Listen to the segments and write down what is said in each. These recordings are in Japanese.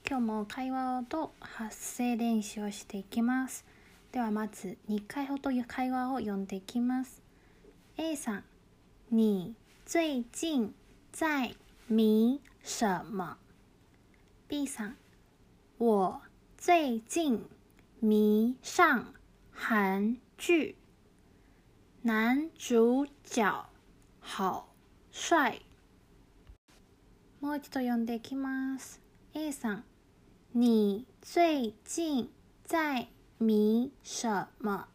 今日も会話と発声練習をしていきます。ではまず2回ほど会話を読んでいきます。 A さん、你最近在迷什么？ B さん、我最近迷上韩剧，男主角好帅。もう一度読んでいきます。 A さん、你最近在迷什么？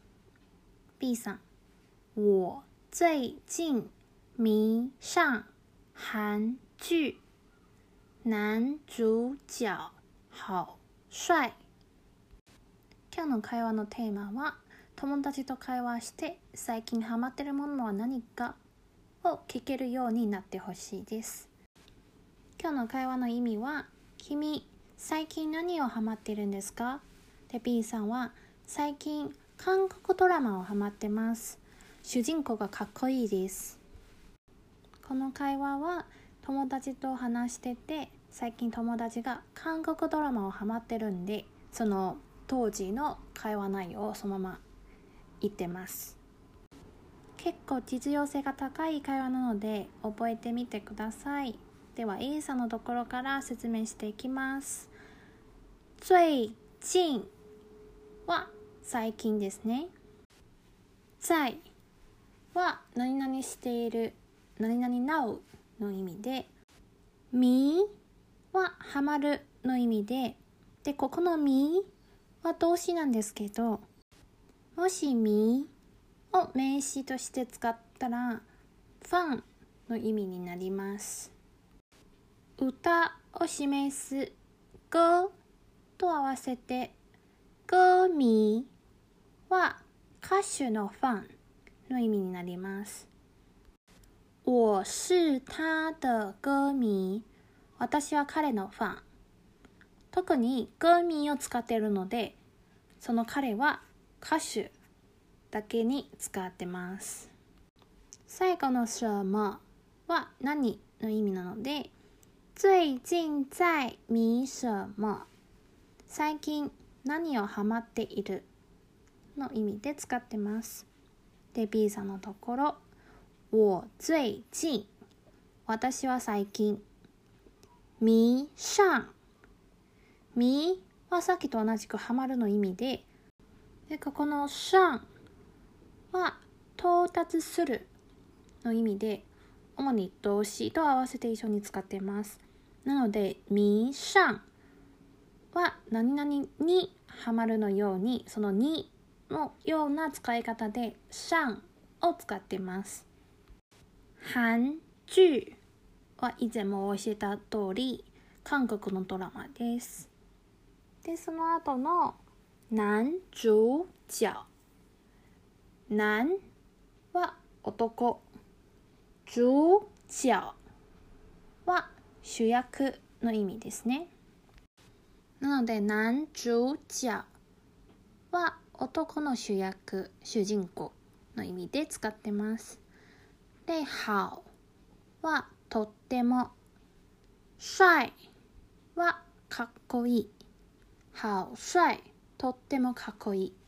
B さん、我最近迷上韩剧，男主角好帅。今日の会話のテーマは、友達と会話して最近ハマってるものは何かを聞けるようになってほしいです。今日の会話の意味は、君最近何をハマってるんですか？で B さんは、最近韓国ドラマをハマってます。主人公がかっこいいです。この会話は友達と話してて、最近友達が韓国ドラマをハマってるんで、その当時の会話内容をそのまま言ってます。結構実用性が高い会話なので覚えてみてください。では A さんのところから説明していきます。最近は最近ですね。在は何々している、何々 now の意味で、みはハマるの意味で、でここのみは動詞なんですけど、もしみを名詞として使ったらファンの意味になります。歌を示す歌と合わせて歌迷は歌手のファンの意味になります。我是他的歌迷。私は彼のファン。特に歌迷を使っているので、その彼は歌手だけに使ってます。最後の什么は何の意味なので、最近在迷什么？最近何をハマっているの意味で使ってます。で B さんのところ、我最近、私は最近、迷上、迷はさっきと同じくハマるの意味で、ここの上は到達するの意味で、主に動詞と合わせて一緒に使っています。なので迷上は何々にハマるのように、そのにのような使い方で上を使っています。韓劇は以前も教えた通り韓国のドラマです。でその後の男主角、男は男、主角は主役の意味ですね。なので男主角は男の主役、主人公の意味で使ってます。で好はとっても、帅はかっこいい、好帅、とってもかっこいい。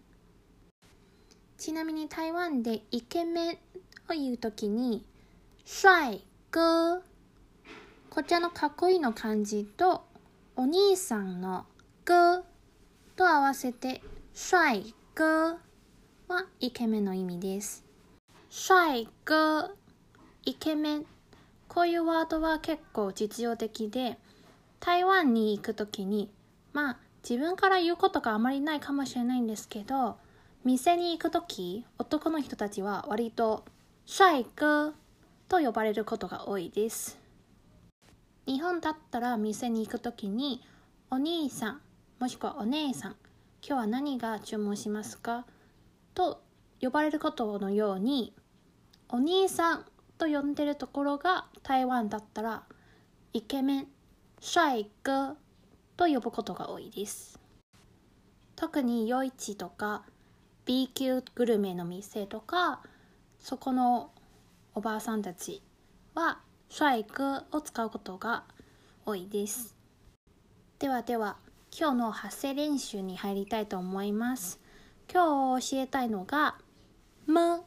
ちなみに台湾でイケメンを言うときに帅哥、こちらのかっこいいの漢字とお兄さんの哥と合わせて帅哥はイケメンの意味です。帅哥、イケメン、こういうワードは結構実用的で、台湾に行くときに、自分から言うことがあまりないかもしれないんですけど、店に行くとき、男の人たちは割と帅哥と呼ばれることが多いです。日本だったら店に行くときに、お兄さんもしくはお姉さん、今日は何が注文しますかと呼ばれることのように、お兄さんと呼んでるところが台湾だったらイケメン、帅哥と呼ぶことが多いです。特に夜市とか B 級グルメの店とか、そこのおばあさんたちは帅哥を使うことが多いです。 では、今日の発声練習に入りたいと思います。今日教えたいのが、む。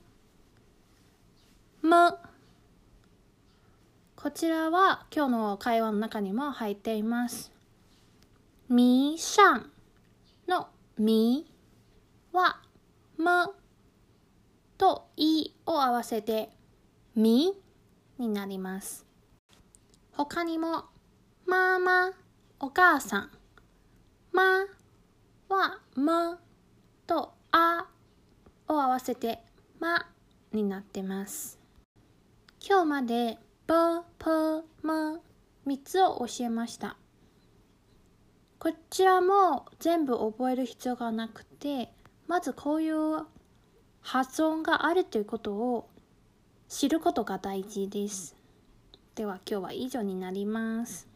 こちらは今日の会話の中にも入っています。迷上の迷はむといを合わせてみになります。他にもママ、お母さん、まはむとあを合わせてまになってます。今日までぶ、ぷ、む3つを教えました。こちらも全部覚える必要がなくて、まずこういう発音があるということを知ることが大事です。では今日は以上になります。